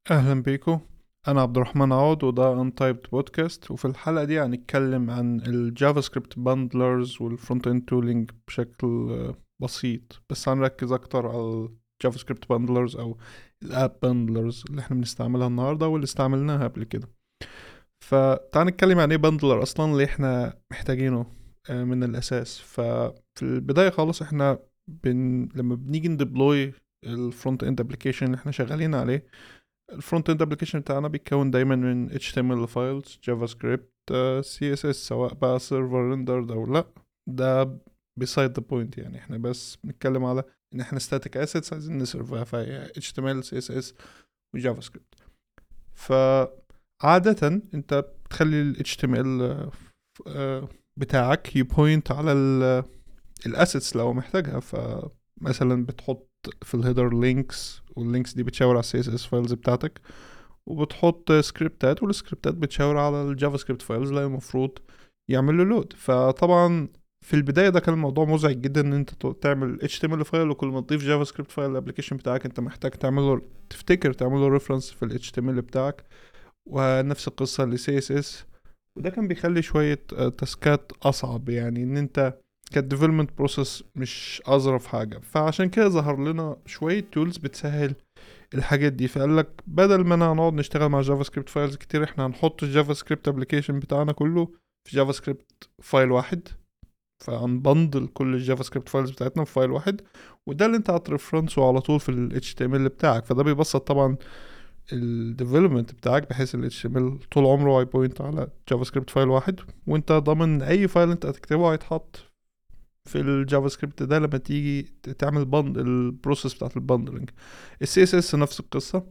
اهلا بيكم. انا عبد الرحمن عوض وده انتايبد بودكاست، وفي الحلقه دي هنتكلم عن الجافا سكريبت باندلرز والفرونت اند تولينج بشكل بسيط، بس هنركز اكتر على الجافا سكريبت باندلرز او الاب باندلرز اللي احنا بنستعملها النهارده واللي استعملناها قبل كده. فتعال نتكلم عن ايه باندلر اصلا اللي احنا محتاجينه من الاساس. ففي البدايه خالص احنا لما بنيجي نديبلوي الفرونت اند ابلكيشن اللي احنا شغالين عليه، الفرونت اند ابلكيشن بتاعنا بيتكون دايما من HTML فايلز، جافا سكريبت، CSS، سواء بقى سيرفر ريندرد او لا. ده beside the point، يعني احنا بس بنتكلم على ان احنا static assets عايزين نسيرفها، فهي HTML CSS وجافا سكريبت. فعادة انت بتخلي ال HTML بتاعك يبوينت على الاسيتس لو محتاجها. فمثلا بتحط في الهيدر لينكس، واللينكس دي بتشاور على السي اس اس فايلز بتاعتك، وبتحط سكريبتات، والسكريبتات بتشاور على الجافا سكريبت فايلز اللي المفروض يعمل له لود. فطبعا في البداية ده كان الموضوع مزعج جدا ان انت تعمل HTML فايل، وكل ما تضيف جافا سكريبت فايل الابلكيشن بتاعك انت محتاج تفتكر تعمله ريفرنس في ال HTML بتاعك، ونفس القصة ل CSS. وده كان بيخلي شوية تاسكات أصعب، يعني إن أنت كديفلوبمنت بروسيس مش أظرف حاجة. فعشان كده ظهر لنا شوية تولز بتسهل الحاجات دي. فقال لك بدل ما انا هنقعد نشتغل مع جافا سكريبت فايلز كتير، احنا هنحط الجافا سكريبت ابلكيشن بتاعنا كله في جافا سكريبت فايل واحد. فهنبندل كل الجافا سكريبت فايلز بتاعتنا في فايل واحد، وده اللي انت هترفرنسه على طول في ال HTML بتاعك. فده بيبسط طبعا الديفلوبمنت بتاعك، بحيث ال HTML طول عمره هيبوينت على جافا سكريبت فايل واحد، وانت ضامن اي فايل انت هتكتبه هيتحط في الجافا سكريبت ده لما تيجي تعمل البروسيس بتاعت البندلنج. السي اس اس نفس القصه.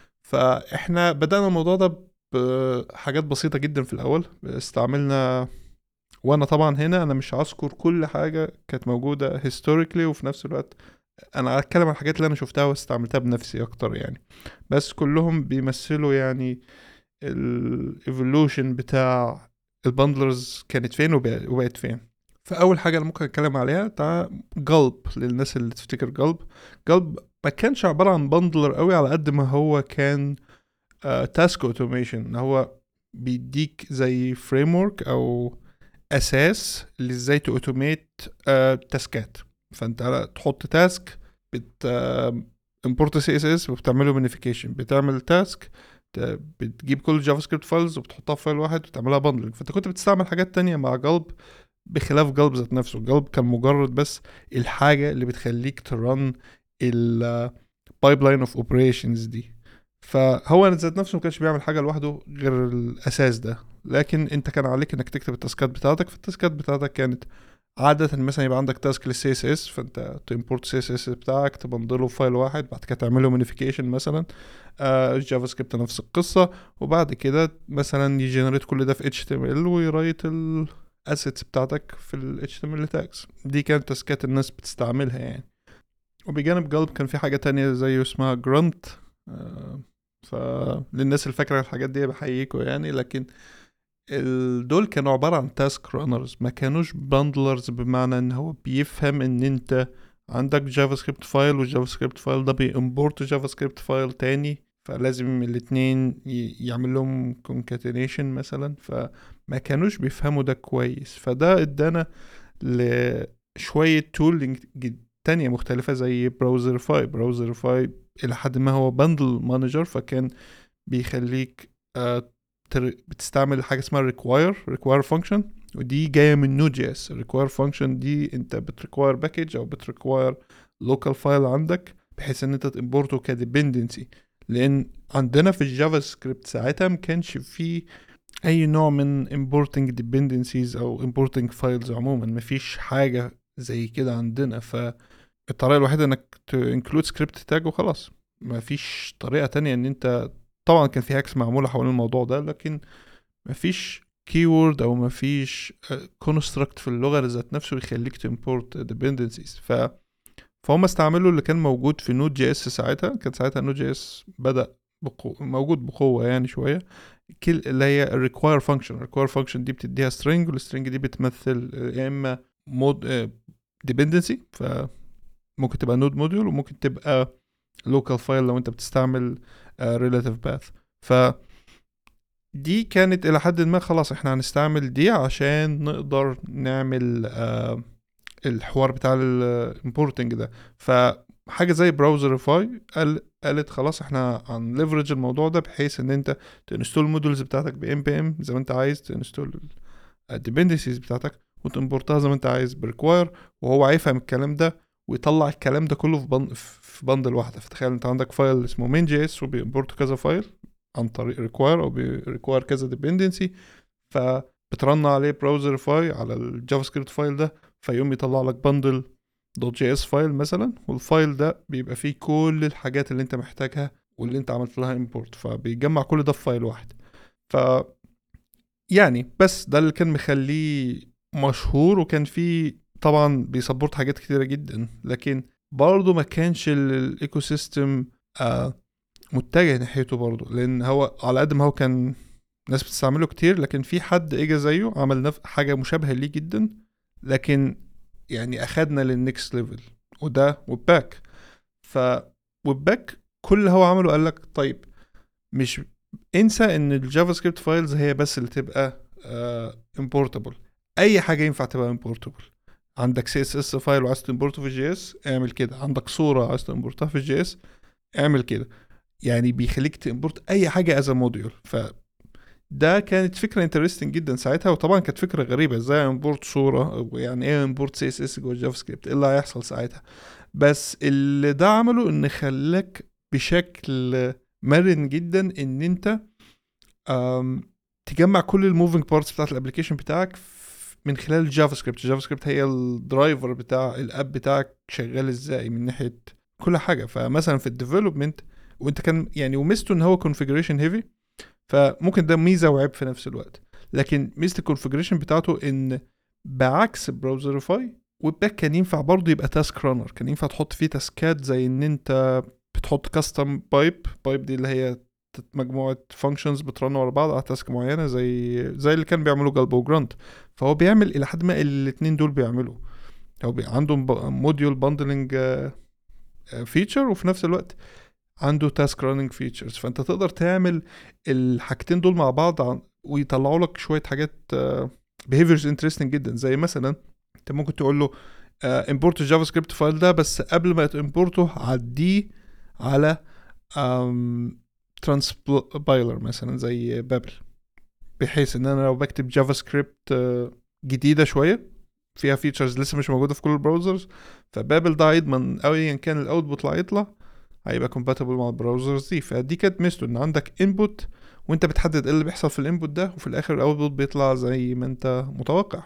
فاحنا بدأنا الموضوع ده بحاجات بسيطة جدا في الأول استعملنا. وأنا طبعا هنا أنا مش هذكر كل حاجة كانت موجودة historically، وفي نفس الوقت أنا هتكلم عن الحاجات اللي أنا شفتها واستعملتها بنفسي أكتر يعني. بس كلهم بيمثلوا يعني ال evolution بتاع البندلرز كانت فين وبقت فين. فأول حاجة أنا ممكن أتكلم عليها بتاع قلب. للناس اللي تفتكر قلب ما كانش عبارة عن بندلر قوي على قد ما هو كان تاسك اوتوميشن. هو بيديك زي فريم ورك او اساس لازاي تاوتوميت تاسكات. فانت تحط تاسك، بت امبورت سي اس اس وبتعمله مانيفيكيشن، بتعمل تاسك، بتجيب كل الجافا سكريبت فايلز وبتحطها في فايل واحد وتعملها باندلنج. فانت كنت بتستعمل حاجات تانية مع قلب، بخلاف قلب ذات نفسه. قلب كان مجرد بس الحاجة اللي بتخليك ترن البايب لاين اوف اوبريشنز دي. فهو ذات نفسه ما كانش بيعمل حاجه لوحده غير الاساس ده، لكن انت كان عليك انك تكتب التاسكات بتاعتك. فالتاسكات بتاعتك كانت عادة مثلا يبقى عندك تاسك للسي اس اس، فانت تمبورت سي اس اس بتاعك تبندله في فايل واحد، بعد كده تعمله مانيفيكيشن مثلا. الجافا سكريبت نفس القصة، وبعد كده مثلا يجنريت كل ده في اتش تي ام ال ويرايت الاسيتس بتاعتك في ال HTML tags. دي كانت تاسكات الناس بتستعملها يعني. وبجانب قلب كان في حاجة تانية زي اسمها جرانت. فللناس اللي فاكرة الحاجات دي بحييكوا يعني. لكن دول كانوا عبارة عن تاسك رانرز، ما كانوش باندلرز، بمعنى ان هو بيفهم ان انت عندك جافا سكريبت فايل، والجافا سكريبت فايل ده بيمبورت جافا سكريبت فايل تاني، فلازم الاتنين يعمل لهم concatenation مثلا. فما كانوش بيفهموا ده كويس. فده ادانا لشوية تولينج تانية مختلفة زي براوزر فاي إلى حد ما هو بندل مانجر. فكان بيخليك بتستعمل حاجة اسمها require function، ودي جاية من نود جي اس. require function دي انت بتريكواير باكج او بتريكواير لوكال فايل عندك، بحيث ان انت تimporته كديبندنسي. لان عندنا في الجافا سكريبت ساعتها ما كانش فيه اي نوع من importing dependencies او importing files عموما. مفيش حاجة زي كده عندنا. فالطريقة الوحيدة انك include script tag وخلاص. مفيش طريقة تانية ان انت، طبعا كان في هاكس معمولة حوالين الموضوع ده، لكن مفيش keyword او مفيش construct في اللغة ذات نفسه يخليك تimport dependencies. فهم استعملوا اللي كان موجود في نود جي اس ساعتها. كان ساعتها نود جي اس بدأ موجود بقوة يعني شوية. كل اللي هي الريكواير فانكشن دي بتديها string، والstring دي بتمثل يا اما مود dependency، فممكن تبقى نود موديول، وممكن تبقى local file لو انت بتستعمل relative path. ف دي كانت الى حد ما خلاص احنا هنستعمل دي عشان نقدر نعمل الحوار بتاع الامبورتنج ده. فحاجه زي براوزرفاي قالت خلاص احنا هنليفرج الموضوع ده بحيث ان انت تنستول المودلز بتاعتك ب npm زي ما انت عايز، تنستول الديبندنسيز بتاعتك وتمبورتها زي ما انت عايز بريكواير، وهو هيفهم الكلام ده ويطلع الكلام ده كله في بندل واحده. فتخيل انت عندك فايل اسمه main.js وبيمبورت كذا فايل عن طريق ريكواير او بيريكواير كذا ديبندنسي، فبترن عليه براوزرفاي على الجافا سكريبت فايل ده، فيقوم يطلع لك بندل دوت جي اس فايل مثلا، والفايل ده بيبقى فيه كل الحاجات اللي انت محتاجها واللي انت عملت لها امبورت، فبيجمع كل ده في فايل واحد. ف يعني بس ده اللي كان مخليه مشهور، وكان فيه طبعا بيسبورت حاجات كتيرة جدا، لكن برضه ما كانش الايكو سيستم متجه ناحيته برضه، لان هو على قد ما هو كان ناس بتستعمله كتير، لكن في حد اجى زيه عمل حاجة مشابهة ليه جدا، لكن يعني اخدنا للنكست ليفل، وده ويب-باك. ويب-باك كل اللي هو عمله قال لك طيب مش انسى ان الجافا سكريبت فايلز هي بس اللي تبقى امبورتابل، اي حاجه ينفع تبقى امبورتابل. عندك سي اس اس فايل وعايز تمبورته في الجي اس اعمل كده، عندك صوره عايز تمبورتها في الجي اس اعمل كده، يعني بيخليك تمبورت اي حاجه از موديول. ده كانت فكره انترستنج جدا ساعتها، وطبعا كانت فكره غريبه ازاي امبورت صوره، يعني ايه امبورت سي اس اس جوه الجافا سكريبت، ايه اللي هيحصل ساعتها. بس اللي ده عمله ان خلاك بشكل مرن جدا ان انت تجمع كل الموفينج بارتس بتاعت الابلكيشن بتاعك من خلال الجافا سكريبت. الجافا سكريبت هي الدرايفر بتاع الاب بتاعك شغال ازاي من ناحيه كل حاجه. فمثلا في الديفلوبمنت وانت كان يعني وميزته ان هو كونفيجريشن هيفي، فممكن ده ميزه وعيب في نفس الوقت، لكن ميزه الكونفيجريشن بتاعته ان بعكس براوزرفاي ويب-باك كان ينفع برضه يبقى تاسك رانر، كان ينفع تحط فيه تاسكات زي ان انت بتحط كاستم بايب دي اللي هي مجموعه فانكشنز بترن ورا بعض على تاسك معينه، زي اللي كان بيعملوا جالبو وجرانت. فهو بيعمل الى حد ما الاثنين دول بيعملوا، هو عندهم موديول باندلنج فيتشر، وفي نفس الوقت عنده تاسك راننج فيتشرز، فانت تقدر تعمل الحاجتين دول مع بعض ويطلعوا لك شويه حاجات behaviors interesting جدا. زي مثلا انت ممكن تقول له import الجافا سكريبت فايل ده، بس قبل ما تimporته عديه على ترانسبايلر مثلا زي بابل، بحيث ان انا لو بكتب جافا سكريبت جديده شويه فيها فيتشرز لسه مش موجوده في كل البراوزرز، فبابل ده هيضمن ايا كان الاوتبوت اللي هيطلع هيبقى compatible مع البراوزرز دي. فدي كانت ميزته ان عندك input وانت بتحدد ايه اللي بيحصل في الانبوت ده، وفي الاخر الاوتبوت بيطلع زي ما انت متوقع.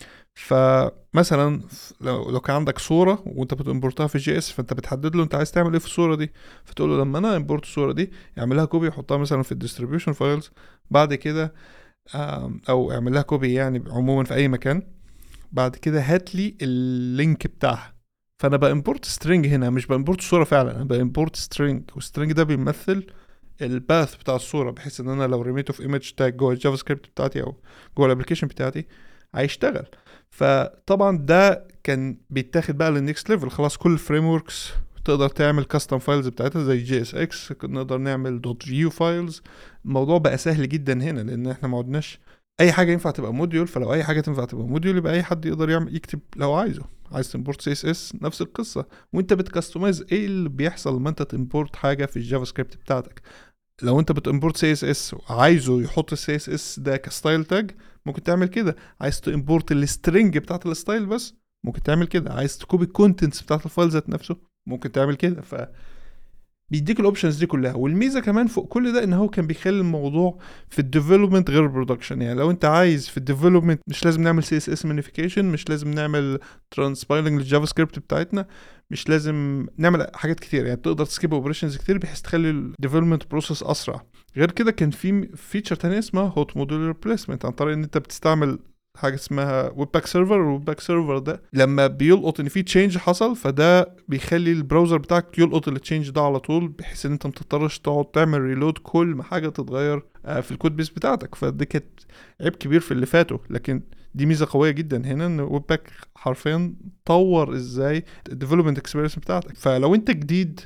فمثلا لو كان عندك صوره وانت بتمبورتها في جي اس، فانت بتحدد له انت عايز تعمل ايه في الصوره دي، فتقول له لما انا امبورت الصوره دي اعملها كوبي وحطها مثلا في الديستريبيوشن فايلز، بعد كده او اعمل لها كوبي يعني عموما في اي مكان، بعد كده هات لي اللينك بتاعها. فانا بامبورت سترينج هنا، مش بامبورت صوره فعلا، انا بامبورت سترينج، والسترينج ده بيمثل الباث بتاع الصوره، بحيث ان انا لو رميته في ايمج تاج جوه الجافا سكريبت بتاعتي او جوه الابلكيشن بتاعتي هيشتغل. فطبعا ده كان بيتاخد بقى للنكست ليفل، خلاص كل الفريم وركس تقدر تعمل كاستم فايلز بتاعتها زي جي اس اكس، نقدر نعمل دوت فيو فايلز. الموضوع بقى سهل جدا هنا، لان احنا ما عدناش اي حاجه ينفع تبقى موديول، فلو اي حاجه تنفع تبقى موديول يبقى اي حد يقدر يعمل يكتب لو عايز تمبورت سي اس اس نفس القصه، وانت بتكستمايز ايه اللي بيحصل لما انت تمبورت حاجه في الجافا سكريبت بتاعتك. لو انت بتمبورت سي اس اس وعايزه يحط السي اس اس ده كستايل تاج ممكن تعمل كده، عايز تمبورت السترنج بتاعت الستايل بس ممكن تعمل كده، عايز تكوبي الكونتنتس بتاعت الفايل ذات نفسه ممكن تعمل كده. بيديك الاوبشنز دي كلها. والميزه كمان فوق كل ده ان هو كان بيخلي الموضوع في الديفلوبمنت غير البرودكشن، يعني لو انت عايز في الديفلوبمنت مش لازم نعمل سي اس اس مانيفيكيشن، مش لازم نعمل ترانسبايلنج للجافا سكريبت بتاعتنا، مش لازم نعمل حاجات كتير، يعني تقدر تسكيب اوبريشنز كتير بحيث تخلي الديفلوبمنت بروسيس اسرع. غير كده كان في فيتشر تانية اسمها هوت موديل ريبليسمنت، عن طريق ان انت بتستعمل حاجه اسمها ويب باك سيرفر، والويب باك سيرفر ده لما بيلقط ان في تشينج حصل فده بيخلي البراوزر بتاعك يلقط التشينج ده على طول، بحيث ان انت متضطرش تقعد تعمل ريلود كل ما حاجه تتغير في الكود بيس بتاعتك. فدي كانت عيب كبير في اللي فاتوا، لكن دي ميزه قويه جدا هنا ان ويب باك حرفيا طور ازاي الديفلوبمنت اكسبيرينس بتاعتك. فلو انت جديد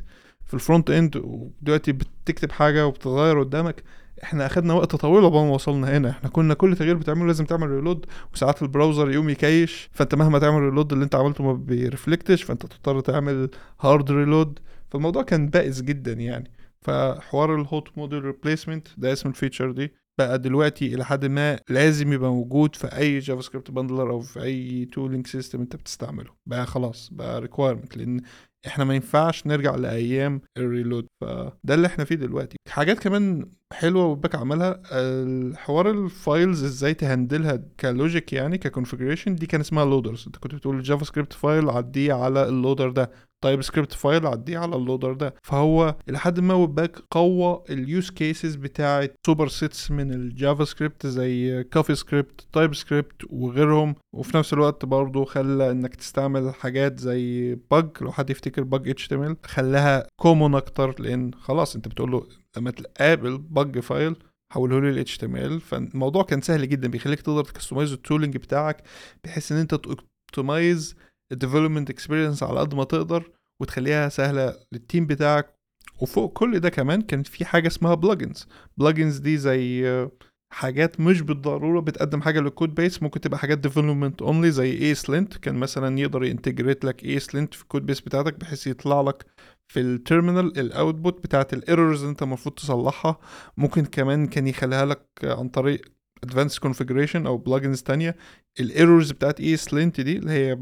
في الفرونت اند ودلوقتي بتكتب حاجه وبتتغير قدامك. احنا اخدنا وقت طويل قبل ما وصلنا هنا. احنا كنا كل تغيير بتعمله لازم تعمل ريلود، وساعات البراوزر يقوم يكيش، فانت مهما تعمل ريلود اللي انت عملته ما بيرفلكتش، فانت تضطر تعمل هارد ريلود. فالموضوع كان بائس جدا يعني. فحوار الهوت موديل ريبليسمنت ده اسم الفيتشر دي بقى دلوقتي الى حد ما لازم يبقى موجود في اي جافا سكريبت باندلر او في اي تولينج سيستم انت بتستعمله. بقى خلاص بقى ريكويرمنت، لان احنا ما ينفعش نرجع لايام الريلود. فده اللي احنا فيه دلوقتي. حاجات كمان حلوه وباك عملها، الحوار الفايلز ازاي تهندلها كلوجيك يعني ككونفيجريشن. دي كان اسمها لودرز. انت كنت بتقول جافا سكريبت فايل عديه على اللودر ده، تايب سكريبت فايل عديه على اللودر ده. فهو لحد ما ويب قوى اليوز كيسز بتاعه سوبر سيتس من الجافا سكريبت زي كافي سكريبت، تايب سكريبت وغيرهم. وفي نفس الوقت برضه خلى انك تستعمل حاجات زي باج، لو حد يفتكر باج HTML، خلاها كومون اكتر، لان خلاص انت بتقول له لما تقابل باج فايل حوله لي ال HTML. فالموضوع كان سهل جدا، بيخليك تقدر تكستمايز التولينج بتاعك بحيث ان انت توبتمايز الديفلوبمنت اكسبيرينس على قد ما تقدر وتخليها سهله للتيم بتاعك. وفوق كل ده كمان كان في حاجه اسمها بلجنز دي زي حاجات مش بالضروره بتقدم حاجه للكود بيس، ممكن تبقى حاجات ديفلوبمنت اونلي زي ايسلنت. كان مثلا يقدر ينتجريت لك ايسلنت في الكود بيس بتاعتك بحيث يطلع لك في التيرمينال الاوتبوت بتاعت الايرورز اللي انت المفروض تصلحها. ممكن كمان كان يخليها لك عن طريق advanced configuration او بلجنز تانية. الايرورز بتاعت ايسلنت دي اللي هي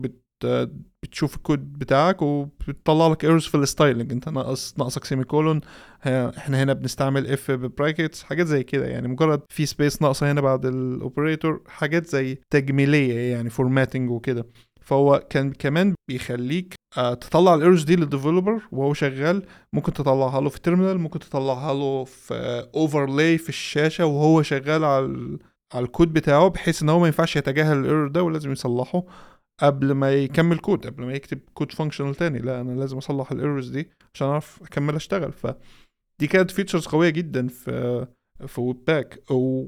بتشوف الكود بتاعك وبتطلع لك ايرورز في الستايلنج، انت ناقصك سيمي كولون، احنا هنا بنستعمل اف ببراكتس، حاجات زي كده يعني. مجرد في سبيس ناقصه هنا بعد الاوبريتور، حاجات زي تجميليه يعني فورماتنج وكده. فهو كان كمان بيخليك تطلع الايرورز دي للديفلوبر وهو شغال. ممكن تطلعها له في التيرمينال، ممكن تطلعها له في اوفرلاي في الشاشه وهو شغال على الكود بتاعه، بحيث ان هو ما ينفعش يتجاهل الايرور ده ولازم يصلحه قبل ما يكمل كود، قبل ما يكتب كود فانكشنال تاني. لا، انا لازم اصلح الايرورز دي عشان اعرف اكمل اشتغل. فدي كانت فيتشرز قويه جدا في ويب باك.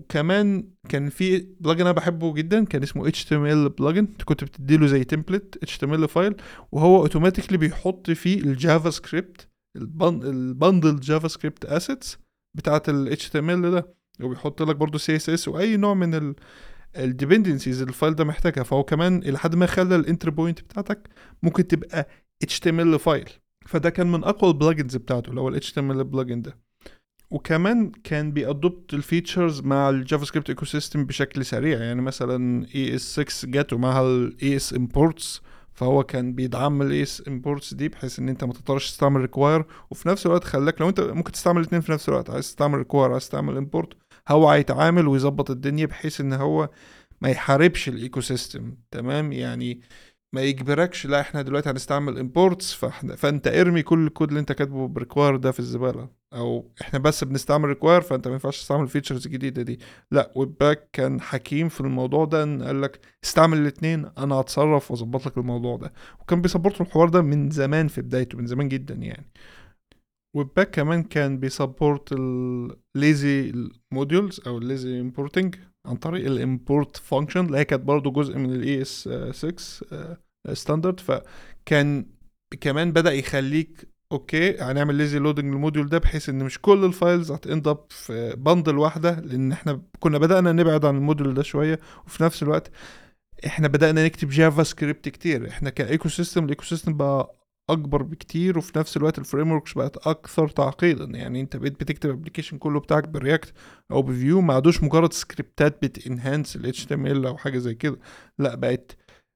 وكمان كان في بلجن انا بحبه جدا كان اسمه HTML بلجن. انت كنت بتديله زي تمبلت HTML فايل وهو اوتوماتيكلي بيحط فيه الجافا سكريبت، البندل جافا سكريبت اسيتس بتاعت ال HTML ده، وبيحط لك برضو CSS واي نوع من الديبندنسيز الفايل ده محتاجها. فهو كمان الى حد ما خلى الانتر بوينت بتاعتك ممكن تبقى HTML فايل. فده كان من اقوى البلجنز بتاعته اللي هو ال HTML بلجن ده. وكمان كان بيأدوبت الفيتشرز مع الجافا سكريبت ايكو سيستم بشكل سريع. يعني مثلا ES6 جاته معها ال ES imports، فهو كان بيدعم ال ES imports دي بحيث ان انت ما تضطرش تستعمل require، وفي نفس الوقت خلاك لو انت ممكن تستعمل الاثنين في نفس الوقت، عايز تستعمل require عايز تستعمل import، هو هيتعامل ويظبط الدنيا بحيث ان هو ما يحاربش الايكو سيستم. تمام يعني ما يجبركش لا احنا دلوقتي هنستعمل imports فانت ارمي كل الكود اللي انت كاتبه بريكواير ده في الزباله، او احنا بس بنستعمل ريكواير فانت ما ينفعش تستعمل الفيتشرز الجديده دي. لا، ويب باك كان حكيم في الموضوع ده، ان قال لك استعمل الاثنين انا هتصرف واظبط لك الموضوع ده. وكان بيسبورت الحوار ده من زمان في بدايته، من زمان جدا يعني. ويب باك كمان كان بيسبورت الليزي موديولز او الليزي امبورتنج عن طريق الامبورت فانكشن اللي هي كانت برضو جزء من الاي اس 6 ستاندرد. فكان كمان بدأ يخليك اوكي هنعمل ليزي لودنج للموديول ده بحيث ان مش كل الفايلز هتاند اب في بندل واحده، لان احنا كنا بدأنا نبعد عن الموديول ده شويه. وفي نفس الوقت احنا بدأنا نكتب جافا سكريبت كتير. احنا كايكو سيستم الايكو سيستم بقى اكبر بكتير، وفي نفس الوقت الفريم وركس بقت اكثر تعقيدا. يعني انت بقيت بتكتب ابلكيشن كله بتاعك برياكت او بفيو، ما عادوش مجرد سكريبتات بتنهانس ال HTML او حاجه زي كده. لا، بقت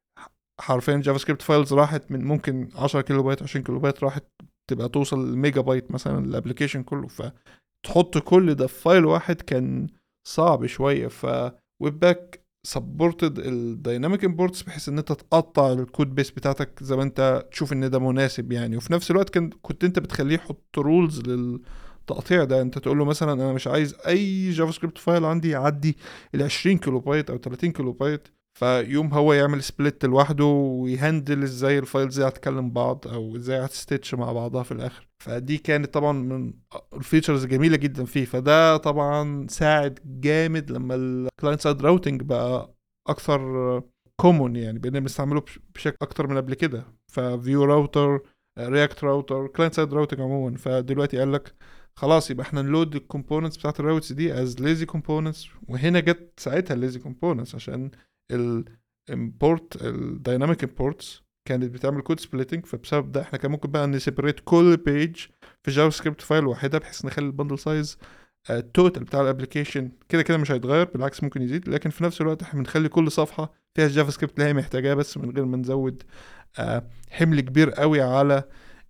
حرفيا جافا سكريبت فايلز راحت من ممكن 10 كيلو بايت 20 كيلو بايت راحت تبقى توصل لميجا بايت مثلا الابلكيشن كله. فتحط كل ده في فايل واحد كان صعب شويه. ويب باك سبورتد الدايناميك امبورتس بحيث ان انت تقطع الكود بيس بتاعتك زي ما انت تشوف ان ده مناسب يعني. وفي نفس الوقت كنت انت بتخليه يحط رولز للتقطيع ده. انت تقول له مثلا انا مش عايز اي جافا سكريبت فايل عندي يعدي ال 20 كيلو بايت او 30 كيلو بايت، فيوم هو يعمل سبليت لوحده ويهندل ازاي الفايلز دي هتكلم بعض او ازاي هتستيتش مع بعضها في الاخر. فدي كانت طبعا من الفيتشرز جميله جدا فيه. فده طبعا ساعد جامد لما الكلاينت سايد راوتنج بقى اكثر كومون، يعني بقينا بنستعمله بشكل اكتر من قبل كده. ففيو راوتر رياكت راوتر، كلاينت سايد راوتنج عموما. فدلوقتي قال لك خلاص يبقى احنا نلود الكومبوننتس بتاعت الراوتس دي از ليزي كومبوننتس. وهنا جت ساعتها الليزي كومبوننتس عشان الامبورت الدايناميك امبورتس كانت بتعمل كود سبليتنج. فبسبب ده احنا كان ممكن بقى نسيبريت كل بيج في جافا سكريبت فايل واحده، بحيث نخلي البندل سايز التوتال بتاع الابلكيشن كده كده مش هيتغير، بالعكس ممكن يزيد، لكن في نفس الوقت احنا بنخلي كل صفحه فيها الجافا سكريبت اللي هي محتاجاه بس، من غير ما نزود حمل كبير قوي على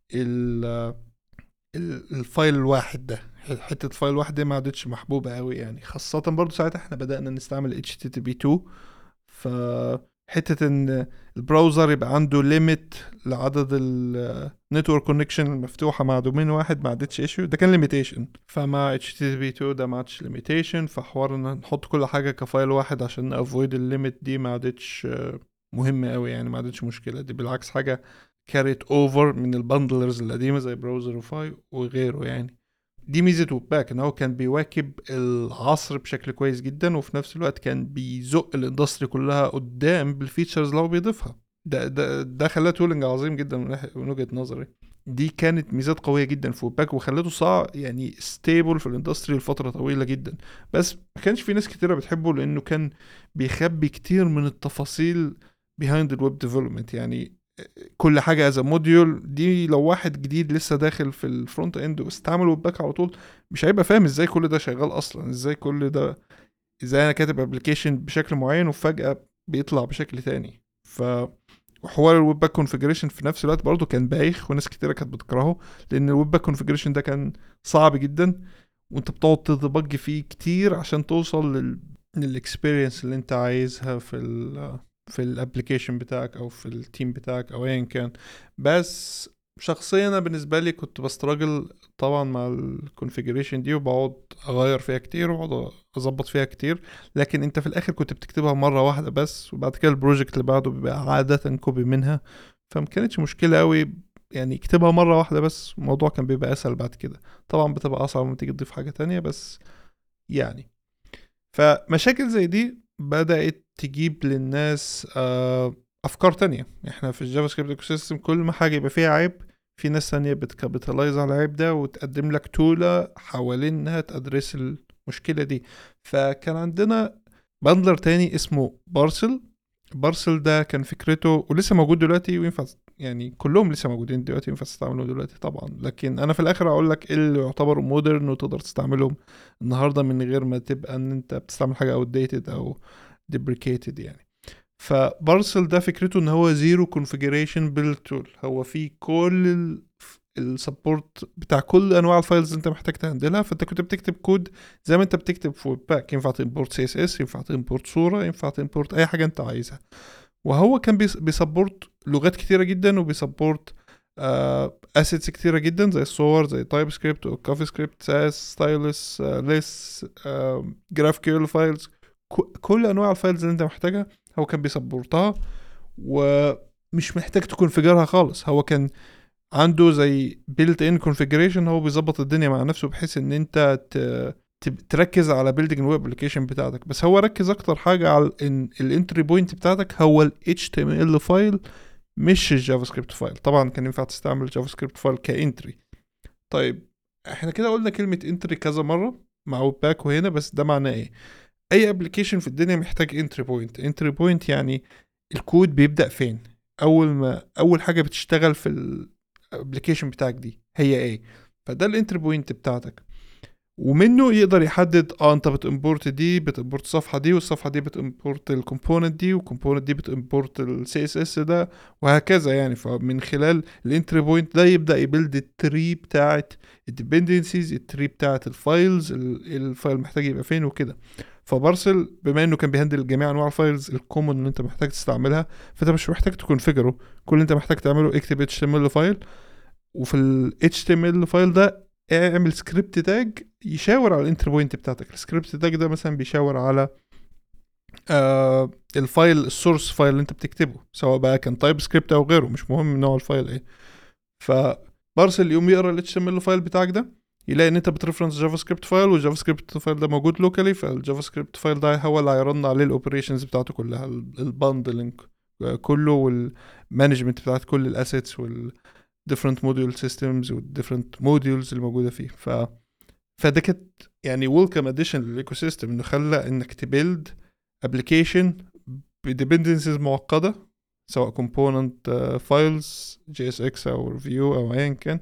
الفايل الواحد ده. حته الفايل الواحد دي ما عادتش محبوبه قوي يعني، خاصه برضو ساعتها احنا بدأنا نستعمل HTTP2. فحته ان البراوزر يبقى عنده ليميت لعدد النتورك كونكشن المفتوحه مع دومين واحد ما عادتش ايشيو، ده كان ليميتيشن. فمع HTTP2 ده ما عادش ليميتيشن، فحوار ان نحط كل حاجه كفايل واحد عشان افويد الليميت دي ما عادتش مهمه قوي يعني، ما عادتش مشكله. دي بالعكس حاجه كاريت اوفر من البندلرز القديمه زي براوزر وفاي وغيره يعني. دي ميزه ويب باك ان هو كان بيواكب العصر بشكل كويس جدا، وفي نفس الوقت كان بيزق الاندستري كلها قدام بالفيتشرز اللي هو بيضيفها. ده خلاه تولنج عظيم جدا من وجهه نظري. دي كانت ميزات قويه جدا في ويب باك، وخلته صعب يعني ستيبل في الاندستري لفتره طويله جدا. بس ما كانش في ناس كتيره بتحبه لانه كان بيخبي كتير من التفاصيل behind الويب ديفلوبمنت يعني. كل حاجه از موديول دي، لو واحد جديد لسه داخل في الفرونت اند واستعمل ويب باك على طول مش هيبقى فاهم ازاي كل ده شغال اصلا، ازاي كل ده، ازاي انا كاتب ابلكيشن بشكل معين وفجاه بيطلع بشكل تاني. ف وحوار الويب باك كونفيجريشن في نفس الوقت برضه كان بايخ، وناس كتيره كانت بتكرهه لان الويب باك كونفيجريشن ده كان صعب جدا، وانت بتقعد تدبج فيه كتير عشان توصل للاكسبيرينس اللي انت عايزها في الابلكيشن بتاعك او في التيم بتاعك او ايا كان. بس شخصيا انا بالنسبه لي كنت بستراجل طبعا مع الكونفيجريشن دي، وبقعد اغير فيها كتير واقعد اظبط فيها كتير. لكن انت في الاخر كنت بتكتبها مره واحده بس، وبعد كده البروجكت اللي بعده بيبقى عاده كوبي منها. فما كانتش مشكله قوي يعني، اكتبها مره واحده بس الموضوع كان بيبقى اسهل بعد كده. طبعا بتبقى اصعب لما تيجي تضيف حاجه تانية بس يعني. فمشاكل زي دي بدأت تجيب للناس أفكار تانية. احنا في الجافا سكريبت ايكو سيستم كل ما حاجة يبقى فيها عيب، في ناس تانية بتكابيتالايز على العيب ده وتقدم لك تولة حوالين انها تأدرس المشكلة دي. فكان عندنا باندلر تاني اسمه بارسل. بارسل ده كان فكرته ولسه موجود دلوقتي وينفع يعني، كلهم لسه موجودين دلوقتي ينفع تستعملهم دلوقتي طبعا، لكن انا في الاخر اقول لك ايه اللي يعتبر مودرن وتقدر تستعملهم النهارده من غير ما تبقى ان انت بتستعمل حاجه اوت ديتد او ديبريكيتد يعني. فبارسل ده فكرته ان هو زيرو كونفيجريشن بيلد تول، هو فيه كل السبورت بتاع كل انواع الفايلز انت محتاج تهندلها. فانت كنت بتكتب كود زي ما انت بتكتب في ويب باك، ينفع تمبورت سي اس اس، ينفع تمبورت صوره، ينفع تمبورت اي حاجه انت عايزها. وهو كان بيسبورت لغات كتيره جدا، وبيسبورت اسيتس كتيره جدا زي الصور، زي تايب سكريبت وكافي سكريبت، ساس، ستايلس، ليس، جراف كيول فايلز، كل انواع الفايلز اللي انت محتاجها هو كان بيسبورتها. ومش محتاج تكونفيجرها خالص، هو كان عنده زي بيلت ان كونفيجريشن، هو بيظبط الدنيا مع نفسه بحيث ان انت تركز على بيلدينج الويب ابلكيشن بتاعتك. بس هو ركز اكتر حاجه على ان الانتري بوينت بتاعتك هو ال HTML فايل مش الجافا سكريبت فايل. طبعا كان ينفع تستعمل جافا سكريبت فايل كانتري. طيب احنا كده قلنا كلمه انتري كذا مره مع ويب باك وهنا، بس ده معناه ايه؟ اي ابلكيشن في الدنيا محتاج انتري بوينت. انتري بوينت يعني الكود بيبدأ فين، اول حاجه بتشتغل في الابلكيشن بتاعك دي هي ايه. فده الانتري بوينت بتاعتك، ومنه يقدر يحدد انت بتimporт دي، بتimporت الصفحه دي، والصفحه دي بتimporت الكومبوننت دي، والكومبوننت دي بتimporت السي اس اس ده، وهكذا يعني. فمن خلال الانتري بوينت ده يبدا يبيلد التري بتاعت الديبندنسيز، التري بتاعت الفايلز، الفايل محتاج يبقى فين وكده. فبارسل بما انه كان بيهندل جميع انواع الفايلز الكومن اللي انت محتاج تستعملها، فانت مش محتاج تكونفيجره. كل اللي انت محتاج تعمله اكتب HTML فايل، وفي ال HTML فايل ده اعمل سكريبت تاج يشاور على الانتر بوينت بتاعتك. السكريبت تاج ده مثلا بيشاور على الفايل، السورس فايل اللي انت بتكتبه، سواء بقى كان تايب سكريبت او غيره، مش مهم نوع الفايل ايه. فبارسل يقوم يقرا ال HTML فايل بتاعك ده، يلاقي ان انت بترفرنس جافا سكريبت فايل، والجافا سكريبت فايل ده موجود لوكالي، فالجافا سكريبت فايل ده هو اللي هيرن عليه الاوبريشنز بتاعته كلها، الباندلنج كله، والمانجمنت بتاعت كل الاسيتس different module systems و different modules اللي موجودة فيه. فده كانت يعني welcome addition للايكو سيستم، انه خلى انك تبيلد application dependencies معقدة، سواء component files JSX او review او ايا كان،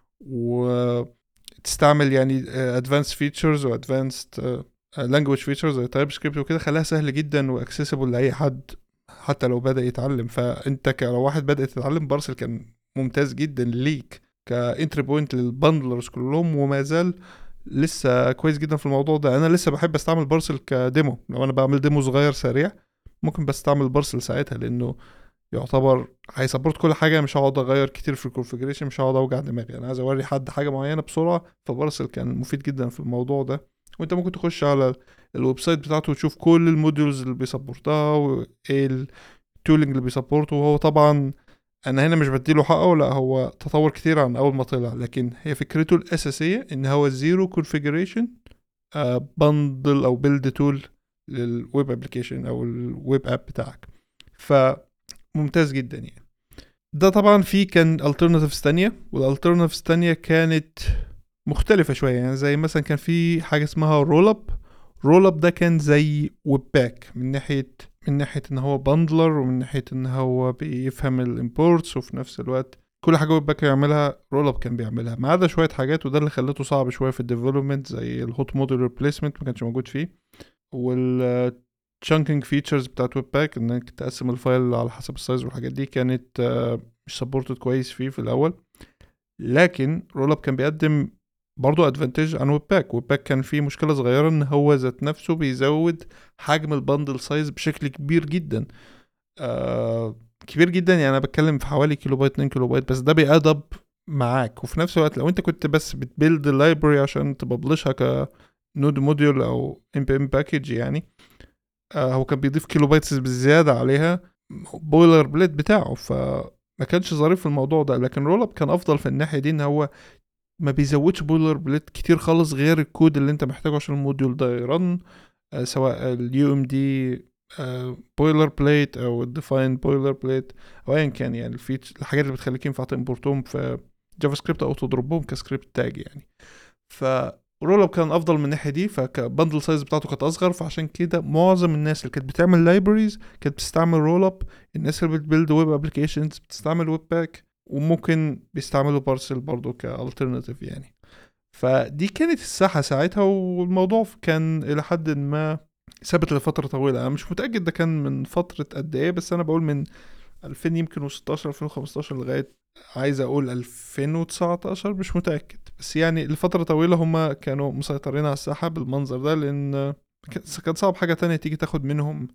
وتستعمل يعني advanced features و advanced language features زي TypeScript وكده، خلاها سهل جدا و accessible لأي حد حتى لو بدأ يتعلم. فانت لو واحد بدأ يتعلم بارسل كان ممتاز جدا ليك كانتري بوينت للبندلرز كلهم، وما زال لسه كويس جدا في الموضوع ده. انا لسه بحب استعمل بارسل كديمو، لو انا بعمل ديمو صغير سريع ممكن بستعمل بارسل ساعتها، لانه يعتبر هيسبورت كل حاجه، مش هقعد اغير كتير في الكونفيجريشن، مش هقعد اوجع دماغي، انا عايز اوري حد حاجه معينه بسرعه. فبارسل كان مفيد جدا في الموضوع ده. وانت ممكن تخش على الويب سايت بتاعته وتشوف كل الموديولز اللي بيسبورتها وايه التولينج اللي بيسبورته. وهو طبعا انا هنا مش بديله حقه، لا هو تطور كتير عن اول ما طلع، لكن هي فكرته الاساسيه ان هو زيرو كونفيجريشن بندل او بيلد تول للويب ابلكيشن او الويب اب بتاعك. فممتاز جدا يعني. ده طبعا في كان alternatives تانية، والalternatives تانية كانت مختلفة شوية، يعني زي مثلا كان في حاجة اسمها رول اب ده كان زي ويب باك من ناحية ان هو باندلر، ومن ناحية ان هو بيفهم الامبورتس، وفي نفس الوقت كل حاجة ويب باك يعملها رول اب كان بيعملها، ما عدا شوية حاجات، وده اللي خلته صعب شوية في الديفلوبمنت، زي الهوت موديل ريبليسمنت ما كانش موجود فيه، والchunking features بتاعت ويب باك انك تقسم الفايل على حسب السايز والحاجات دي كانت مش سبورتد كويس فيه في الاول. لكن رول اب كان بيقدم برضو ادفانتج عن ويب باك كان فيه مشكلة صغيرة، ان هو ذات نفسه بيزود حجم البندل سايز بشكل كبير جدا، كبير جدا، يعني انا بتكلم في حوالي كيلو بايت 2 كيلو بايت، بس ده بيأدب معاك. وفي نفس الوقت لو انت كنت بس بتبيلد اللايبرري عشان تببلشها كنود موديول او npm باكيج يعني، هو كان بيضيف كيلو بايتس بالزيادة عليها بويلر بليت بتاعه، فما كانش ظريف في الموضوع ده. لكن رول اب كان افضل في الناحية دي، ان هو ما بيزودش بويلر بليت كتير خالص غير الكود اللي انت محتاجه عشان الموديول ده يرن، سواء اليو ام دي بويلر بليت او الديفاين بويلر بليت او ايا كان، يعني الحاجات اللي بتخليك ينفع تمبورتهم في جافا سكريبت او تضربهم كسكريبت تاج يعني. فرول اب كان افضل من الناحيه دي، فكبندل سايز بتاعته كانت اصغر، فعشان كده معظم الناس اللي كانت بتعمل لايبريز كانت بتستعمل رول اب، الناس اللي بتبيلد ويب ابلكيشنز بتستعمل ويب باك، وممكن بيستعملوا بارسل برضو كالترناتيف يعني. فدي كانت الساحة ساعتها، والموضوع كان إلى حد ما ثابت لفترة طويلة. أنا مش متأكد ده كان من فترة قد إيه، بس أنا بقول من 2000 يمكن و16 2015 لغاية عايز أقول 2019، مش متأكد، بس يعني لفترة طويلة هما كانوا مسيطرين على الساحة بالمنظر ده، لأن كان صعب حاجة تانية تيجي تاخد منهم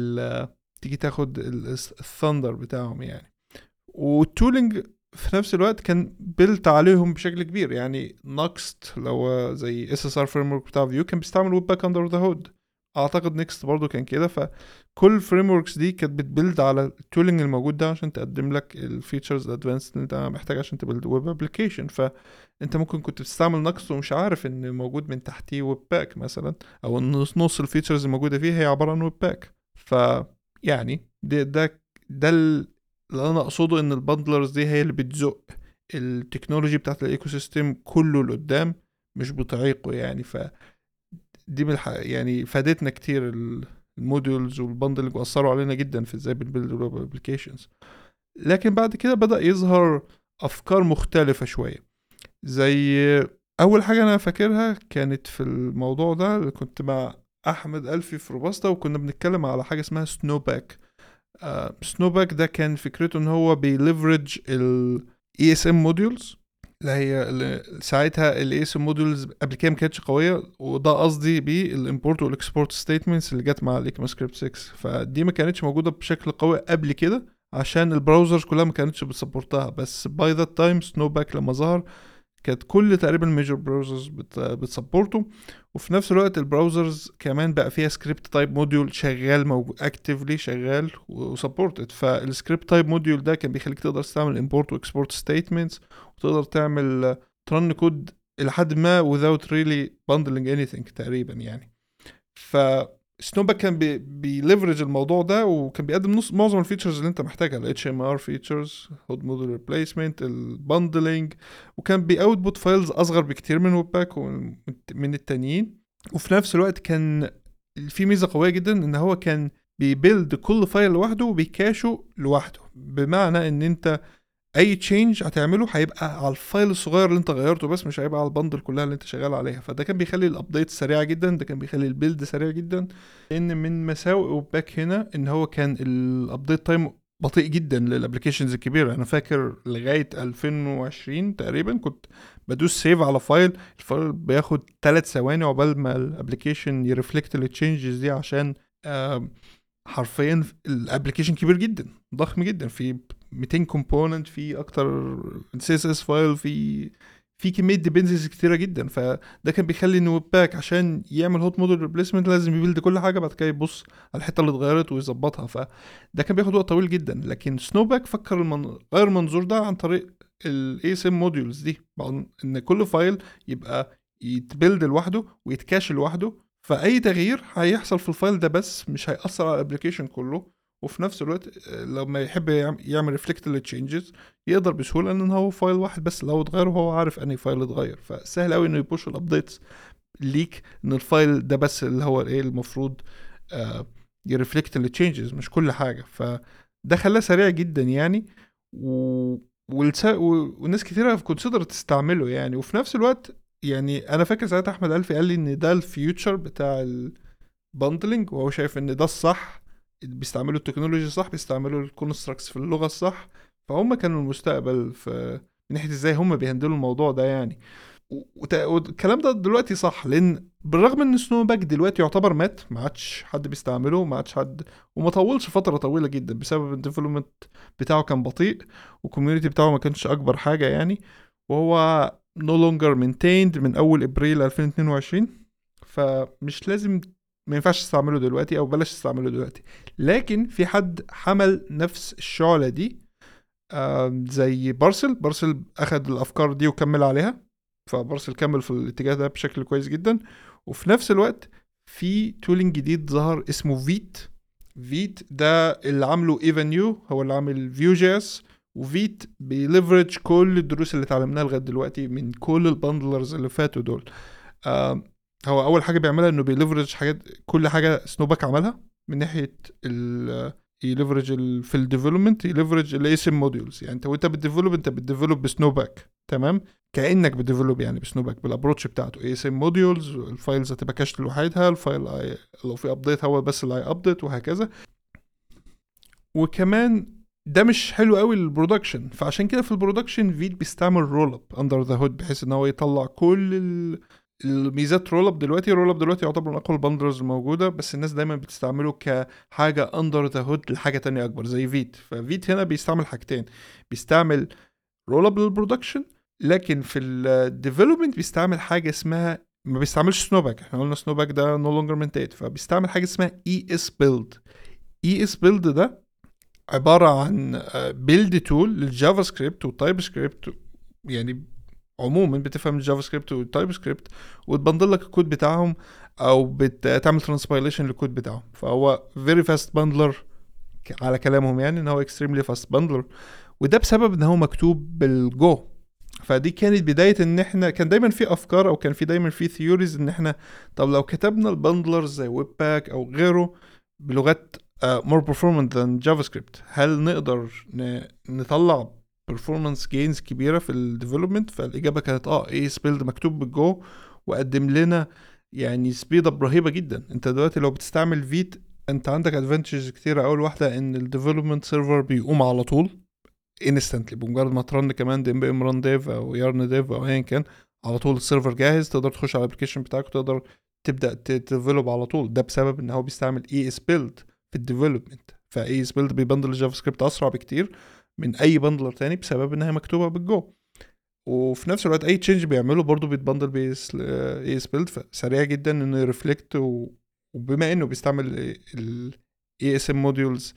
تيجي تاخد الثندر بتاعهم يعني. والتولينج في نفس الوقت كان بيلت عليهم بشكل كبير، يعني نكست لو زي SSR framework بتاع فيو كان بيستعمل ويب باك اندر ذا هود، اعتقد نيكست برضو كان كده. فكل frameworks دي كانت بتبيلد على التولينج الموجود ده عشان تقدم لك الفيتشرز الادفانسد اللي انت محتاج عشان تبيلد ويب ابلكيشن. فانت ممكن كنت بتستعمل نكست ومش عارف ان موجود من تحتيه ويب باك مثلا، او ان نص الفيتشرز الموجوده فيه هي عباره عن ويب باك. يعني ده اللي انا اقصده، ان البندلرز دي هي اللي بتزق التكنولوجي بتاعت الايكو سيستم كله لقدام، مش بتعيقه يعني. دي يعني فادتنا كتير الموديولز والبندلنج، واثروا علينا جدا في ازاي بنبيلد الويب ابلكيشنز. لكن بعد كده بدأ يظهر افكار مختلفة شوية، زي اول حاجة انا فاكرها كانت في الموضوع ده، كنت مع احمد الفي في روباستا، وكنا بنتكلم على حاجة اسمها سنوباك. سنوباك ده كان فكرته ان هو بيليفرج ال ESM modules، اللي ساعتها ال ESM modules قبل كده ما كانتش قويه، وده قصدي بيه الامبورت والاكسبورت ستيتمنتس اللي جت مع الايكما سكريبت 6. فدي ما كانتش موجوده بشكل قوي قبل كده عشان البراوزرز كلها ما كانتش بتسبورتها، بس باي ذات تايم سنوباك لما ظهر كانت كل تقريبا الميجر براوزرز بتسبورته. وفي نفس الوقت البراوزرز كمان بقى فيها سكريبت تايب موديول شغال، موجود اكتفلي شغال وسبورتد. فالسكريبت تايب موديول ده كان بيخليك تقدر تعمل امبورت واكسبورت ستيتمنتس، وتقدر تعمل ترن كود الى حد ما without really bundling anything تقريبا يعني. سنوباك كان بيليفرج الموضوع ده، وكان بيقدم معظم الفيتشرز اللي انت محتاجها، ال HMR فيتشرز، هود موديل ريبليسمنت، الباندلنج، وكان بيأوتبوت فايلز اصغر بكتير من ويب باك ومن التانيين. وفي نفس الوقت كان في ميزة قوية جدا ان هو كان بيبيلد كل فايل لوحده وبيكاشه لوحده، بمعنى ان انت اي تشينج هتعمله هيبقى على الفايل الصغير اللي انت غيرته بس، مش هيبقى على البندل كلها اللي انت شغال عليها. فده كان بيخلي الابديت سريعه جدا، ده كان بيخلي البيلد سريع جدا. لان من مساوئ وباك هنا ان هو كان الابديت تايم بطيء جدا للابلكيشنز الكبيره. انا فاكر لغايه 2020 تقريبا كنت بدوس سيف على فايل، الفايل بياخد 3 ثواني عقبال ما الابلكيشن يرفلكت التشينجز دي، عشان حرفيا الابلكيشن كبير جدا، ضخم جدا، في 200 كومبوننت، في اكتر سي اس اس فايل، في كميه ديبندنسز كتيره جدا. فده كان بيخلي ان ويب باك عشان يعمل هوت موديل ريبليسمنت لازم يبيلد كل حاجه، بعد كده يبص على الحته اللي اتغيرت ويظبطها. فده كان بياخد وقت طويل جدا. لكن سنوباك فكر غير المنظور ده عن طريق الاي اس ام موديولز دي، ان كل فايل يبقى يتبيلد لوحده ويتكاش لوحده، فاي تغيير هيحصل في الفايل ده بس مش هيأثر على الابلكيشن كله. وفي نفس الوقت لما يحب يعمل ريفلكت للتشينجز يقدر بسهوله، ان هو فايل واحد بس لو اتغير وهو عارف انهي فايل اتغير، فسهل قوي انه يبوش الابديتس ليك ان الفايل ده بس اللي هو ايه المفروض يرفلكت التشينجز، مش كل حاجه. فده خلاه سريع جدا يعني، و... وناس كتيره كونسيدر تستعمله يعني. وفي نفس الوقت يعني انا فاكر ساعتها احمد الفي قال لي ان ده الفيوتشر بتاع الباندلنج، وهو شايف ان ده الصح، بيستعملوا التكنولوجيا الصح، بيستعملوا الكونستراكتس في اللغه الصح. فهم كانوا المستقبل في من ناحيه ازاي هم بيهندلوا الموضوع ده يعني. والكلام ده دلوقتي صح، لان بالرغم ان سنو باك دلوقتي يعتبر مات، ما عادش حد بيستعمله، ما عادش حد، وما طولش فتره طويله جدا بسبب الديفلوبمنت بتاعه كان بطيء، والكوميونتي بتاعه ما كانش اكبر حاجه يعني. وهو no longer maintained من اول ابريل 2022، فمش لازم، ما ينفعش تستعمله دلوقتي او بلاش تستعمله دلوقتي. لكن في حد حمل نفس الشعلة دي، زي بارسل اخد الافكار دي وكمل عليها، فبارسل كمل في الاتجاه ده بشكل كويس جدا. وفي نفس الوقت في تولينج جديد ظهر اسمه فيت ده اللي عامله ايفانيو، هو اللي عامل فيو جي اس. وفيت بيليفرج كل الدروس اللي اتعلمناها لغايه دلوقتي من كل الباندلرز اللي فاتوا دول. هو اول حاجه بيعملها انه بيليفرج حاجات، كل حاجه سنوباك عملها من ناحيه يليفرج في الديفلوبمنت، يليفرج الاس ام موديولز. يعني انت وانت بتديفلوب، انت بتديفلوب بسنوباك، تمام، كانك بتديفلوب يعني بسنوباك بالابروتش بتاعته. اس ام موديولز، الفايلز هتبقى كاشت لوحدها، الفايل لو في ابديت هو بس اللي هيابديت، وهكذا. وكمان ده مش حلو قوي للبرودكشن، فعشان كده في البرودكشن فيت بيستعمل رول اب اندر ذا هود، بحيث ان هو يطلع كل الميزات. رول اب دلوقتي يعتبر من اقوى البندرز الموجوده، بس الناس دايما بتستعمله كحاجه اندر ذا هود لحاجه تانية اكبر زي فيت. ففيت هنا بيستعمل حاجتين، بيستعمل رول اب للبرودكشن، لكن في الديفلوبمنت بيستعمل حاجه اسمها، ما بيستعملش سنوباك، احنا قلنا سنوباك ده نو لونجر مينتيد، فبيستعمل حاجه اسمها اي اس بيلد. اي اس بيلد ده عباره عن بيلد تول للجافا سكريبت والتايب سكريبت، يعني عموما بتفهم الجافا سكريبت والتايب سكريبت، وتبندل لك الكود بتاعهم، او بتعمل ترانسبايليشن للكود بتاعهم. فهو فيري فاست باندلر على كلامهم، يعني ان هو اكستريملي فاست باندلر، وده بسبب ان هو مكتوب بالجو. فدي كانت بداية ان احنا كان دايما في افكار، او كان في دايما في ثيوريز ان احنا طب لو كتبنا الباندلرز زي ويب باك او غيره بلغات more performant than JavaScript، هل نقدر نطلع performance gains كبيرة في الديفلوبمنت؟ فالإجابة كانت ايه سبيلد مكتوب بالجو، وقدم لنا يعني سبيد اب رهيبة جدا. انت دلوقتي لو بتستعمل فيت انت عندك ادفانتجز كتيرة. اول واحدة ان الديفلوبمنت سيرفر بيقوم على طول انستنتلي، بمجرد ما ترن كمان ام بي ام ران ديف او يارن ديف او ايا كان، على طول السيرفر جاهز، تقدر تخش على الابلكيشن بتاعك وتقدر تبدا تديفلوب على طول. ده بسبب ان هو بيستعمل اي اس بيلد في الديفلوبمنت. فاي اس بيلد بيبندل الجافا سكريبت اسرع بكتير من اي بندلر تاني بسبب انها مكتوبه بالجو. وفي نفس الوقت اي تشينج بيعمله برضه بيتبندل باي اس بيلد، فسريع جدا انه يرفلكت. وبما انه بيستعمل الاي اس ام موديولز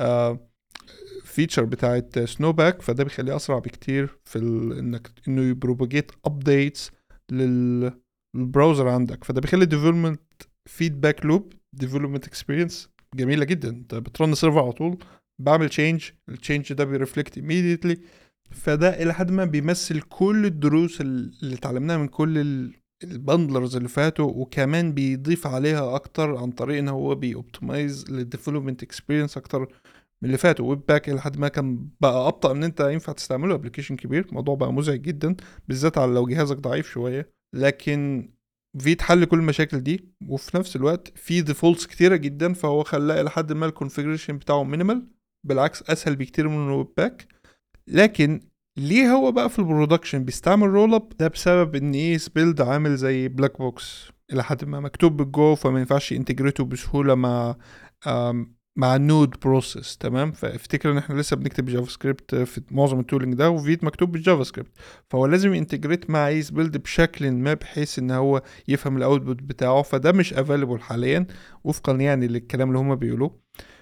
فيتشر بتاعت سنوباك، فده بيخليه اسرع بكتير في انه يبروباجيت ابديتس للبراوزر عندك. فده بيخلي الديفلوبمنت فيدباك لوب ديفلوبمنت اكسبيرينس جميله جدا. انت بترن سيرفر على طول، بعمل التشينج ده بيرفلكت immediately. فده الى حد ما بيمثل كل الدروس اللي اتعلمناها من كل البندلرز اللي فاتوا، وكمان بيضيف عليها اكتر عن طريق ان هو بيوبتمايز للديفلوبمنت اكسبيرينس اكتر من اللي فاتوا. ويب باك الى حد ما كان بقى ابطا ان انت ينفع تستعمله ابلكيشن كبير، الموضوع بقى مزعج جدا بالذات على لو جهازك ضعيف شويه. لكن فيت حل كل المشاكل دي، وفي نفس الوقت في ديفولتس كتيره جدا، فهو خلاه الى حد ما الكونفيجريشن بتاعه مينيمال، بالعكس اسهل بكتير من الويب باك. لكن ليه هو بقى في البرودكشن بيستعمل رول اب؟ ده بسبب ان ايه، سبيلد عامل زي بلاك بوكس الى حد ما، مكتوب بالجو، فما ينفعش انتجريته بسهوله مع مع النود بروسيس. تمام، فافتكر ان احنا لسه بنكتب جافا سكريبت في معظم التولينج ده، وفيت مكتوب بالجافا سكريبت، فهو لازم ينتجريت مع اي سبيلد بشكل ما بحيث ان هو يفهم الاوتبوت بتاعه. فده مش افيلبل حاليا وفقا يعني للكلام اللي هما بيقولوه.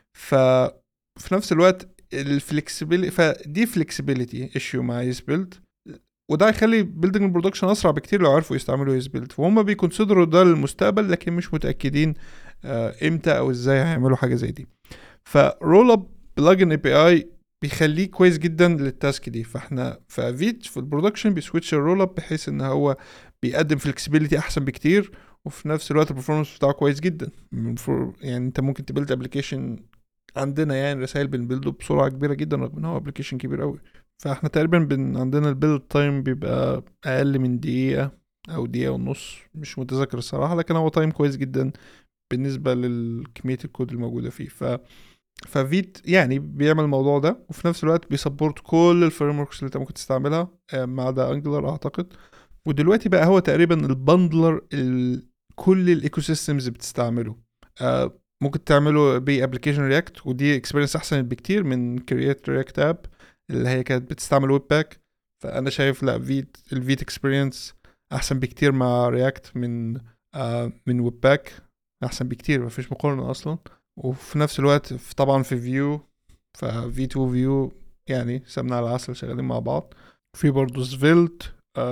ففي نفس الوقت الفلكسبيليتي، فدي فلكسبيليتي ايشيو مع يس بيلد، وده هيخلي بيلدنج البرودكشن اسرع بكتير لو عرفوا يستعملوا يس بيلد. فهم بيكونسيدروا ده للمستقبل، لكن مش متاكدين امتى او ازاي هيعملوا حاجه زي دي. فرول اب بلجن اي بي اي بيخليه كويس جدا للتاسك دي. فاحنا ففيت في البرودكشن بيسويتش الرول اب بحيث ان هو بيقدم فلكسبيليتي احسن بكتير، وفي نفس الوقت البرفورمانس بتاعه كويس جدا. يعني انت ممكن تبيلد ابلكيشن عندنا، يعني رسائل بنبيلده بسرعه كبيره جدا رغم ان هو ابلكيشن كبير قوي. فاحنا تقريبا عندنا البيلد تايم بيبقى اقل من دقيقه او دقيقه ونص، مش متذكر الصراحه، لكن هو تايم كويس جدا بالنسبه للكميه الكود الموجوده فيه. ففيت يعني بيعمل الموضوع ده، وفي نفس الوقت بيسبورت كل الفريم وركس اللي انت ممكن تستعملها ما عدا انجلر اعتقد. ودلوقتي بقى هو تقريبا البندلر كل الايكو سيستمز بتستعمله. ممكن تعمله بابلكيشن رياكت، ودي اكسبيرينس احسن بكتير من كرييت رياكت اب اللي هي كانت بتستعمل ويب باك. فانا شايف لا، الفيت اكسبيرينس احسن بكتير مع رياكت من ويب باك، احسن بكتير، مفيش مقارنه اصلا. وفي نفس الوقت طبعا في فيو، ففي 2 فيو يعني سمنة على العسل شغالين مع بعض. في برضه سفيلت،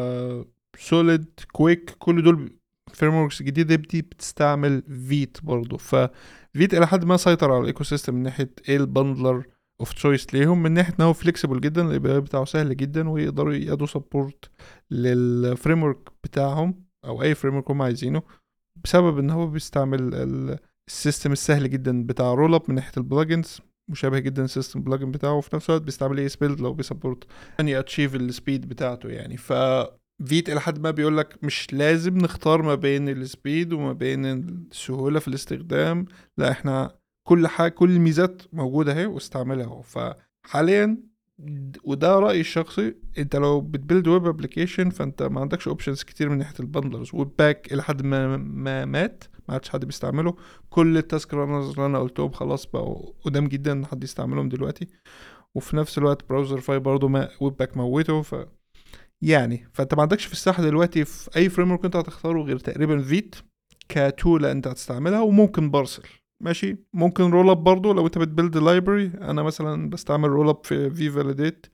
سوليد، كويك، كل دول فريم وركس جديدة دي بتستعمل فيت برضه. ففيت الى حد ما سيطر على الايكو سيستم من ناحية ايه البندلر اوف تشويس ليهم، من ناحية ان هو فليكسيبل جدا، الاي بي اي بتاعه سهل جدا، ويقدروا يدوا سبورت للفريم ورك بتاعهم او اي فريم ورك هم عايزينه، بسبب ان هو بيستعمل السيستم السهل جدا بتاع رول اب من ناحيه البلجنز، مشابه جدا السيستم بلجن بتاعه، وفي نفس الوقت بيستعمل اي سبيلد لو بيسبورت يعني اتشيف السبيد بتاعته. يعني فيت الى حد ما بيقول لك مش لازم نختار ما بين السبيد وما بين السهوله في الاستخدام، لا احنا كل حاجه، كل الميزات موجوده اهي واستعملها اهو. فحاليا وده رأيي الشخصي، انت لو بتبيلد ويب ابلكيشن فانت ما عندكش اوبشنز كتير من ناحيه البندلرز. ويب باك الى حد ما مات، ما عادش حد بيستعمله. كل التاسك رانرز اللي انا قلتهم خلاص بقوا قدام جدا ان حد يستعملهم دلوقتي. وفي نفس الوقت براوزر فاي برضه ما ويب باك موته. يعني فانت ما عندكش في الساحه دلوقتي في اي فريم ورك انت هتختاره غير تقريبا فيت كتولة انت هتستعملها، وممكن بارسل ماشي، ممكن رول اب برضه لو انت بتبيلد لايبرري. انا مثلا بستعمل رول اب في فاليديت،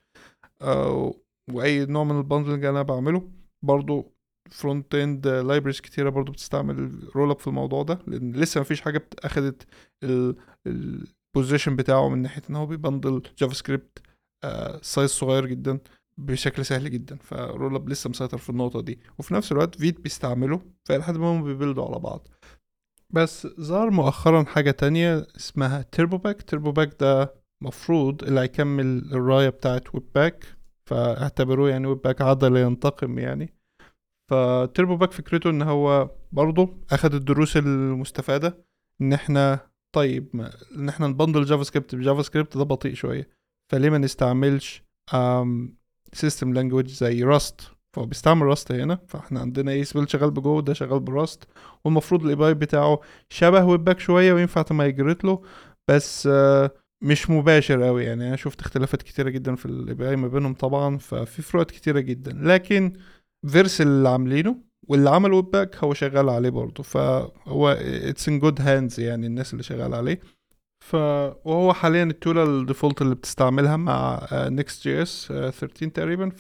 واي نوع من البندلنج انا بعمله برضو. فرونت اند لايبرز كتيره برضو بتستعمل رول اب في الموضوع ده، لان لسه مفيش حاجه اخدت البوزيشن بتاعه من ناحيه ان هو بيبندل جافا سكريبت سايز صغير جدا بشكل سهل جدا. فرول اب لسه مسيطر في النقطه دي، وفي نفس الوقت فيت بيستعمله، فلحد ما هم بيبيلدوا على بعض. بس ظهر مؤخرا حاجه تانية اسمها تيربو باك. تيربو باك ده مفروض اللي هيكمل الرايه بتاعت ويب باك، فاعتبروه يعني ويب باك عضلة ينتقم يعني. فتيربو باك فكرته ان هو برضه اخد الدروس المستفادة، ان احنا طيب ما ان احنا نبندل جافا سكريبت بجافا سكريبت ده بطيء شوية، فليه ما نستعملش سيستم لانجويج زي راست. فهو بيستعمل راست هنا، فاحنا عندنا ايه سبيل شغال بجو، ده شغال براست، والمفروض الاي بي اي بتاعه شبه ويب باك شوية وينفع تمايجريت له، بس مش مباشر قوي. يعني انا شفت اختلافات كتيرة جدا في الاي بي اي ما بينهم طبعا، ففي فروقات كتيرة جدا. لكن فيرس اللي عاملينه واللي عمل ويب باك هو شغال عليه برضه، فهو اتس ان جود هاندز يعني الناس اللي شغال عليه. وهو حاليا التولة الديفولت اللي بتستعملها مع نيكست جي اس 13 تقريبا.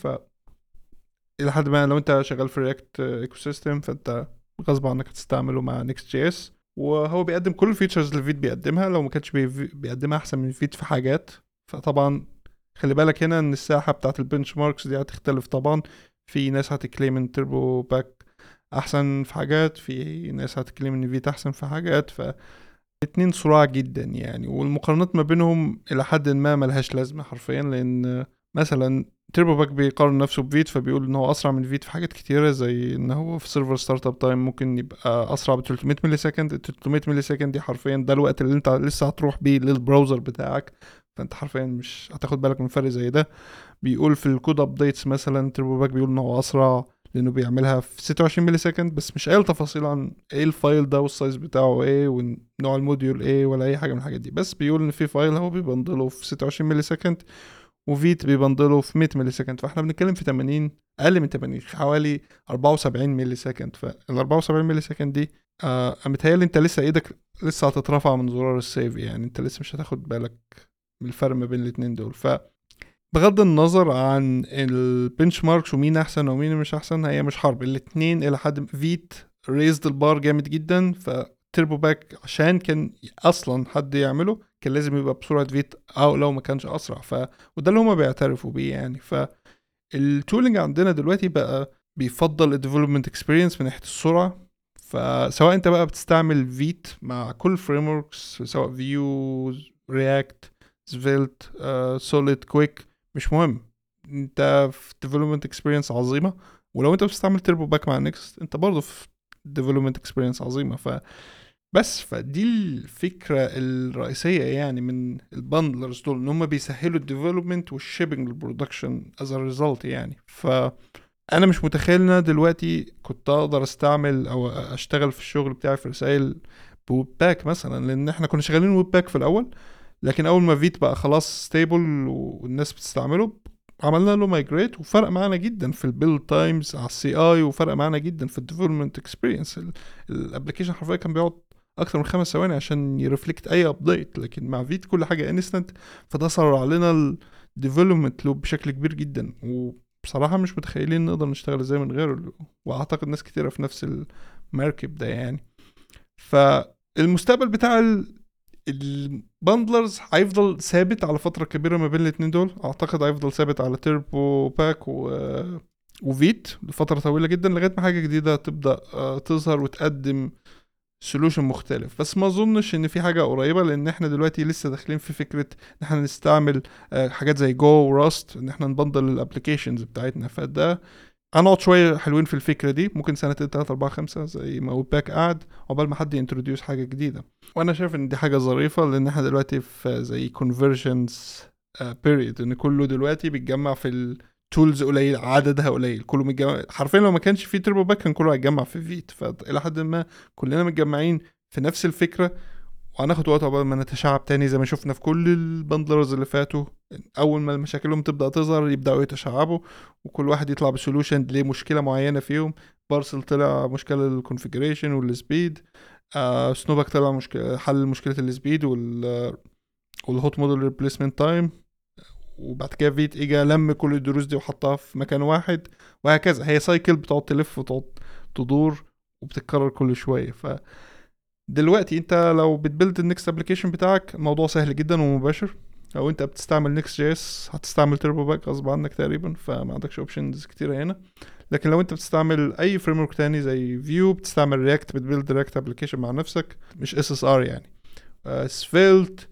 الى حد ما لو انت شغال في رياكت ايكو سيستم فانت غصب عنك هتستعمله مع نيكست جي اس. وهو بيقدم كل الفيتشرز اللي فيت بيقدمها، لو ما كانش بيقدمها احسن من فيت في حاجات. فطبعا خلي بالك هنا ان الساحه بتاعت البنش ماركس دي هتختلف طبعا. في ناس هتكليم ان تربو باك احسن في حاجات، في ناس هتكليم ان فيت احسن في حاجات، فالاتنين صراع جدا يعني. والمقارنات ما بينهم الى حد ما ملهاش لازمه حرفيا، لان مثلا تيربو باك بيقارن نفسه بفيت، فبيقول ان هو اسرع من فيت في حاجات كتيره، زي ان هو في سيرفر ستارت اب تايم ممكن يبقى اسرع ب 300 ملي سكند. ال 300 ملي سكند دي حرفيا ده الوقت اللي انت لسه هتروح بيه للبراوزر بتاعك، فانت حرفيا مش هتاخد بالك من فرق زي ده. بيقول في الكود ابديتس مثلا تيربو باك بيقول ان هو اسرع لانه بيعملها في 26 ملي سكند، بس مش قايل تفاصيل عن ايه الفايل ده والسايز بتاعه ايه ونوع الموديول ايه ولا اي حاجه من الحاجات دي. بس بيقول ان في فايل هو بيبندله في 26 ملي سكند، وفيت بيبندله في 100 ملي سكند، فاحنا بنتكلم في 80، اقل من 80، حوالي 74 ملي سكند. فال 74 ملي سكند دي متهيألي انت لسه ايدك لسه هتترفع من زرار السيف، يعني انت لسه مش هتاخد بالك من الفرق ما بين الاتنين دول. بغض النظر عن البنش ماركس ومين احسن ومين مش احسن، هي مش حرب، الاتنين الى حد فيت ريزد البار جامد جدا. فتيربو باك عشان كان اصلا حد يعمله كان لازم يبقى بسرعه فيت، او لو ما كانش اسرع. وده اللي هما بيعترفوا بيه يعني. فالتولينج عندنا دلوقتي بقى بيفضل الديفلوبمنت اكسبيرينس من ناحيه السرعه. فسواء انت بقى بتستعمل فيت مع كل فريم وركس، سواء فيو، رياكت، سفيلت، سوليد، كويك، مش مهم، انت في development experience عظيمة. ولو انت بتستعمل تيربو باك مع نيكست انت برضه في development experience عظيمة. فدي الفكرة الرئيسية يعني من الباندلرز دول، ان هم بيسهلوا الديفلوبمنت والشيبنج للبرودكشن as a result يعني. انا مش متخيل ان انا دلوقتي كنت اقدر استعمل او اشتغل في الشغل بتاعي في رسائل بويب باك مثلا، لان احنا كنا شغالين ويب باك في الاول، لكن اول ما فيت بقى خلاص ستيبل والناس بتستعمله عملنا له مايجريت، وفرق معانا جدا في البيلد تايمز على السي اي، وفرق معانا جدا في الديفلوبمنت اكسبيرينس. الابلكيشن حرفيا كان بيقعد اكتر من 5 ثواني عشان يرفلكت اي ابديت، لكن مع فيت كل حاجه انستنت، فده سرع علينا الديفلوبمنت لوب بشكل كبير جدا. وبصراحه مش متخيلين نقدر نشتغل ازاي من غيره، واعتقد ناس كتيره في نفس المركب ده يعني. فالمستقبل بتاع الباندلرز هيفضل ثابت على فترة كبيرة ما بين الاتنين دول. اعتقد هيفضل ثابت على تيربو باك وفيت لفترة طويلة جدا، لغاية ما حاجة جديدة تبدأ تظهر وتقدم سولوشن مختلف. بس ما اظنش ان في حاجة قريبة، لان احنا دلوقتي لسه داخلين في فكرة ان احنا نستعمل حاجات زي جو وراست، ان احنا نبندل الابليكيشنز بتاعتنا. فده هنقعد شوية حلوين في الفكرة دي، ممكن سنتين 3 4 5 زي ما ويباك قعد عقبال ما حد ينتروديوس حاجة جديدة. وانا شايف ان دي حاجة ظريفة، لان احنا دلوقتي في زي conversions period، ان كله دلوقتي بيتجمع في التولز قليل، عددها قليل، كله متجمع حرفيا. لو ما كانش في تربو باك كان كله هيتجمع في فيت، فإلى حد ما كلنا متجمعين في نفس الفكرة، وهناخد وقت عقبال ما نتشعب تاني زي ما شفنا في كل البندلرز اللي فاتوا. اول ما مشاكلهم تبدا تظهر يبداوا يتشعبوا، وكل واحد يطلع بسولوشن لمشكله معينه فيهم. بارسل طلع مشكله الكونفيجريشن والسبيد، سنوبك طلع مشكله حل مشكله السبيد والهوت موديل ريبليسمنت تايم. وبعد كده فيت اجا لم كل الدروس دي وحطها في مكان واحد، وهكذا. هي سايكل بتقعد تلف وتقعد تدور وبتتكرر كل شويه. دلوقتي انت لو بتبلد النكست ابلكيشن بتاعك الموضوع سهل جدا ومباشر. او انت بتستعمل نكست جي اس هتستعمل تيربو باك غصب عنك تقريبا، فما عندكش اوبشنز كتيره هنا. لكن لو انت بتستعمل اي فريم ورك تاني زي فيو، بتستعمل رياكت، بتبلد رياكت ابلكيشن مع نفسك مش اس اس ار يعني، سفيلت،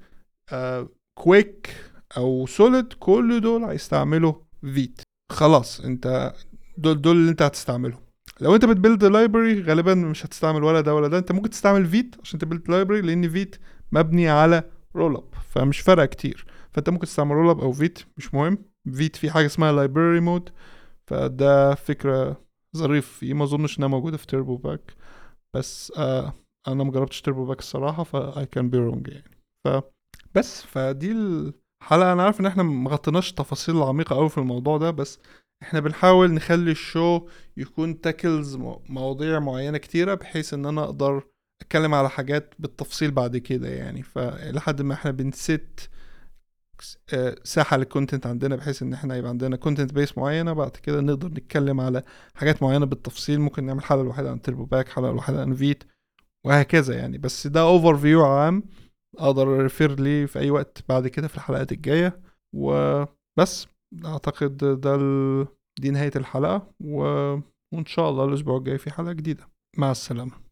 كويك او سوليد، كل دول هيستعملوا فيت. خلاص انت دول اللي انت هتستعملهم. لو انت بتبيلد لايبرري غالبا مش هتستعمل ولا ده ولا ده، انت ممكن تستعمل فيت عشان تبيلد لايبرري، لان فيت مبني على رول اب، فمش فارقه كتير. فانت ممكن تستعمل رول اب او فيت، مش مهم. فيت في حاجه اسمها لايبرري مود، فده فكره ظريف فيه، ما اظنش انها موجوده في تيربو باك. بس انا مجربتش تيربو باك الصراحه، I can be wrong يعني. فدي الحلقه. انا عارف ان احنا مغطيناش تفاصيل عميقه قوي في الموضوع ده، بس احنا بنحاول نخلي الشو يكون تاكلز مواضيع معينة كتيرة، بحيث ان انا اقدر اتكلم على حاجات بالتفصيل بعد كده يعني. فلحد ما احنا بنست ساحة للكونتنت عندنا، بحيث ان احنا يبقى عندنا كونتنت بيس معينة، بعد كده نقدر نتكلم على حاجات معينة بالتفصيل. ممكن نعمل حلقة الواحدة عن تيربو باك، حلقة الواحدة عن فيت، وهكذا يعني. بس ده اوفر فيو عام، اقدر ريفير لي في اي وقت بعد كده في الحلقات الجاية. وبس اعتقد دي نهاية الحلقة، وان شاء الله الاسبوع الجاي في حلقة جديدة. مع السلامة.